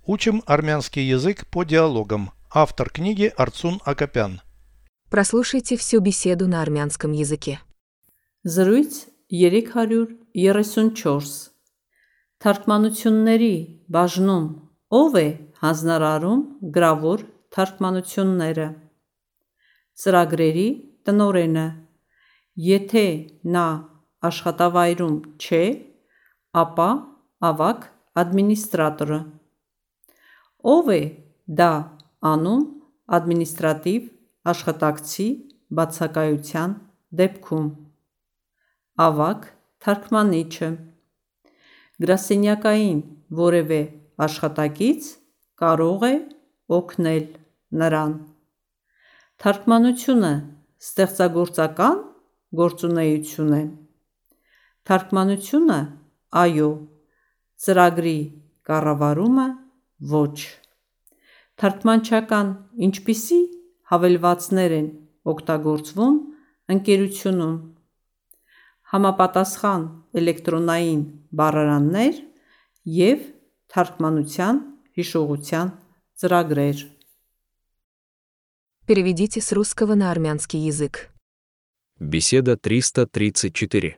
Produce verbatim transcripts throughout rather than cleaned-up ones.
Учим армянский язык по диалогам. Автор книги Арцун Акопян. Прослушайте всю беседу на армянском языке. Զրույց երեք հարյուր երեսունչորս Թարգմանությունների բաժնում ով է հանձնարարում գրավոր թարգմանությունները։ Ծրագրերի տնօրենը։ Եթե նա աշխատավայրում չէ, ապա ավագ ադմինիստրատորը։ Ով է դա անում ադմինիստրատիվ աշխատակցի բացակայության դեպքում։ Ավագ թարգմանիչը։ Գրասենյակային որևէ աշխատակից կարող է օգնել նրան։ Թարգմանությունը ստեղծագործական գործունեություն է։ Թարգմանությունը՝ այո, ծրագրի կառավարումը՝ ոչ։ Թարգմանչական ինչպիսի հավելվածներ են օգտագործվում ընկերությունում։ Համապատասխան էլեկտրոնային բառարաններ և թարգմանության հիշողության ծրագրեր։ Переведите с русского на армянский язык. Беседа триста тридцать четыре.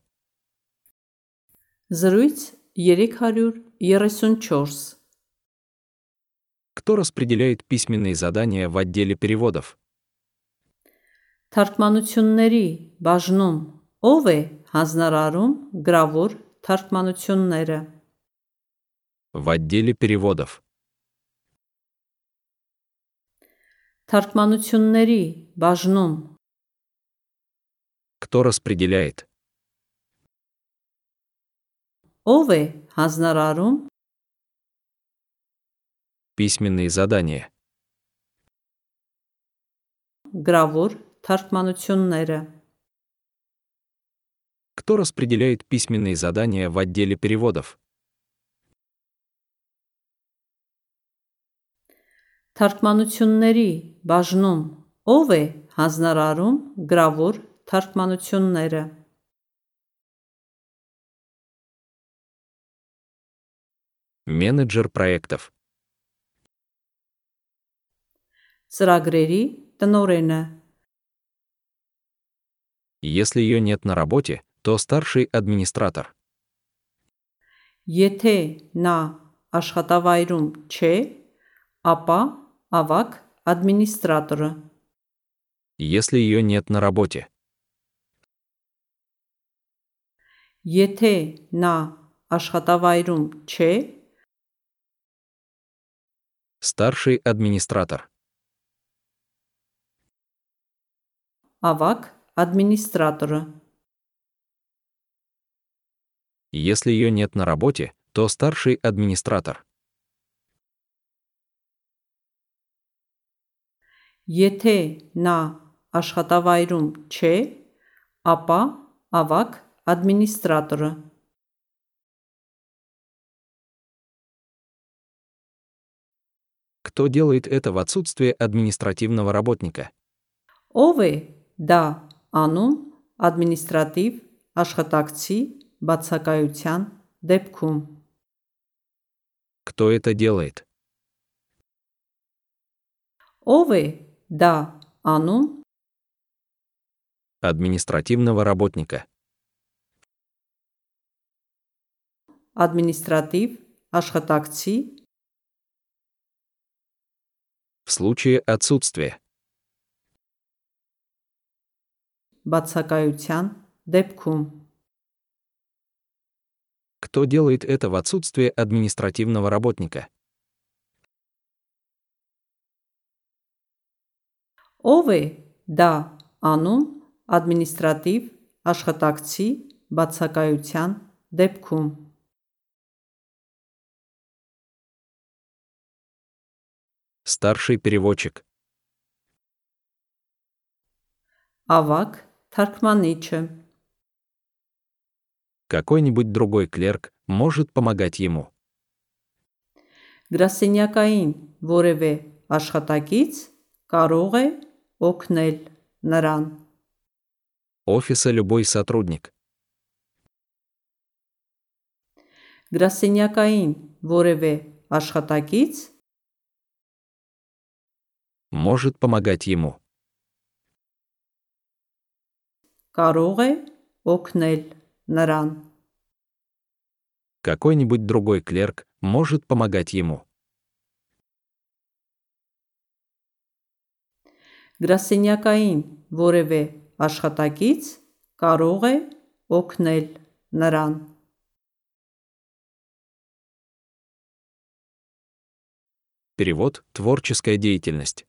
Զրույց երեք հարյուր երեսունչորս Кто распределяет письменные задания в отделе переводов? Թարգմանությունների բաժնում ով է հանձնարարում գրավոր թարգմանությունները։ В отделе переводов. Թարգմանությունների բաժնում Кто распределяет? ով է հանձնարարում Письменные задания. գրավոր թարգմանությունները։ Кто распределяет письменные задания в отделе переводов? Թարգմանությունների բաժնում ով է հանձնարարում գրավոր թարգմանությունները։ Менеджер проектов. Ծրագրերի տնօրենը։ Если ее нет на работе, то старший администратор. Եթե նա աշխատավայրում չէ, ապա ավագ ադմինիստրատորը։ Если ее нет на работе. Եթե նա աշխատավայրում չէ, Старший администратор. ավագ ադմինիստրատորը։ Если ее нет на работе, то старший администратор. Եթե նա աշխատավայրում չէ, ապա ավագ ադմինիստրատորը։ Кто делает это в отсутствие административного работника? Ով է դա անում ադմինիստրատիվ աշխատակցի բացակայության դեպքում։ Кто это делает? Ով է դա անում Административного работника. ադմինիստրատիվ աշխատակցի В случае отсутствия. բացակայության դեպքում։ Кто делает это в отсутствие административного работника? Ով է դա անում ադմինիստրատիվ աշխատակցի բացակայության դեպքում։ Старший переводчик. Ավագ թարգմանիչը։ Какой-нибудь другой клерк может помогать ему. Գրասենյակային որևէ աշխատակից կարող է օգնել նրան։ Офиса любой сотрудник. Գրասենյակային որևէ աշխատակից может помогать ему. Կարող է օգնել նրան։ Какой-нибудь другой клерк может помогать ему. Գրասենյակային որևէ աշխատակից կարող է օգնել նրան։ Перевод — творческая деятельность.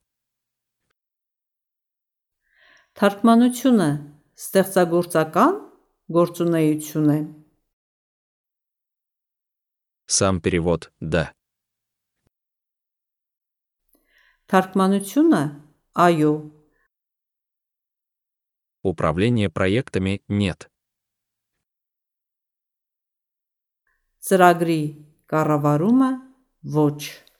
Թարգմանությունը ստեղծագործական գործունեություն է։ Сам перевод — да. Թարգմանությունը այո։ Управление проектами — нет. Ծրագրի կառավարումը ոչ։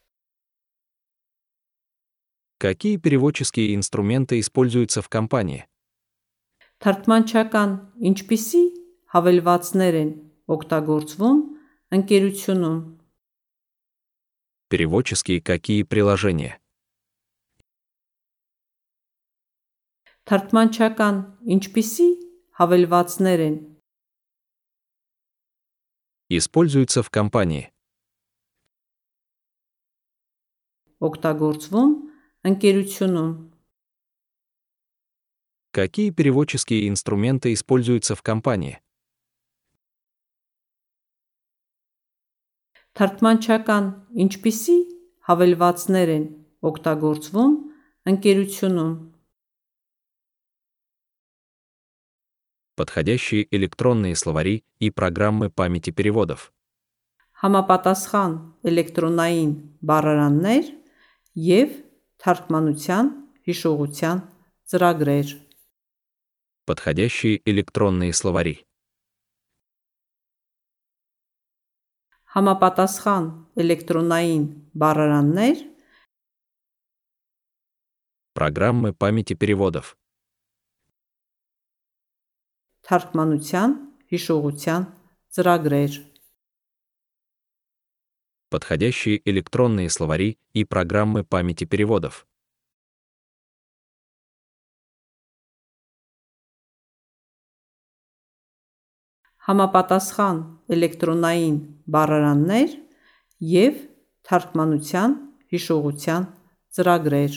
Какие переводческие инструменты используются в компании? Թարգմանչական ինչպիսի հավելվածներ են օգտագործվում ընկերությունում։ Переводческие какие приложения? Թարգմանչական ինչպիսի հավելվածներ են Используются в компании. օգտագործվում ընկերությունում։ Какие переводческие инструменты используются в компании? Թարգմանչական ինչպիսի հավելվածներ են օգտագործվում ընկերությունում։ Подходящие электронные словари и программы памяти переводов. Համապատասխան էլեկտրոնային բառարաններ և թարգմանության հիշողության ծրագրեր։ Подходящие электронные словари. Համապատասխան էլեկտրոնային բառարաններ Программы памяти переводов. թարգմանության հիշողության ծրագրեր։ Подходящие электронные словари и программы памяти переводов. Համապատասխան էլեկտրոնային բառարաններ և թարգմանության հիշողության ծրագրեր։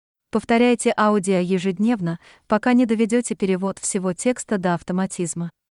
Повторяйте аудио ежедневно, пока не доведете перевод всего текста до автоматизма.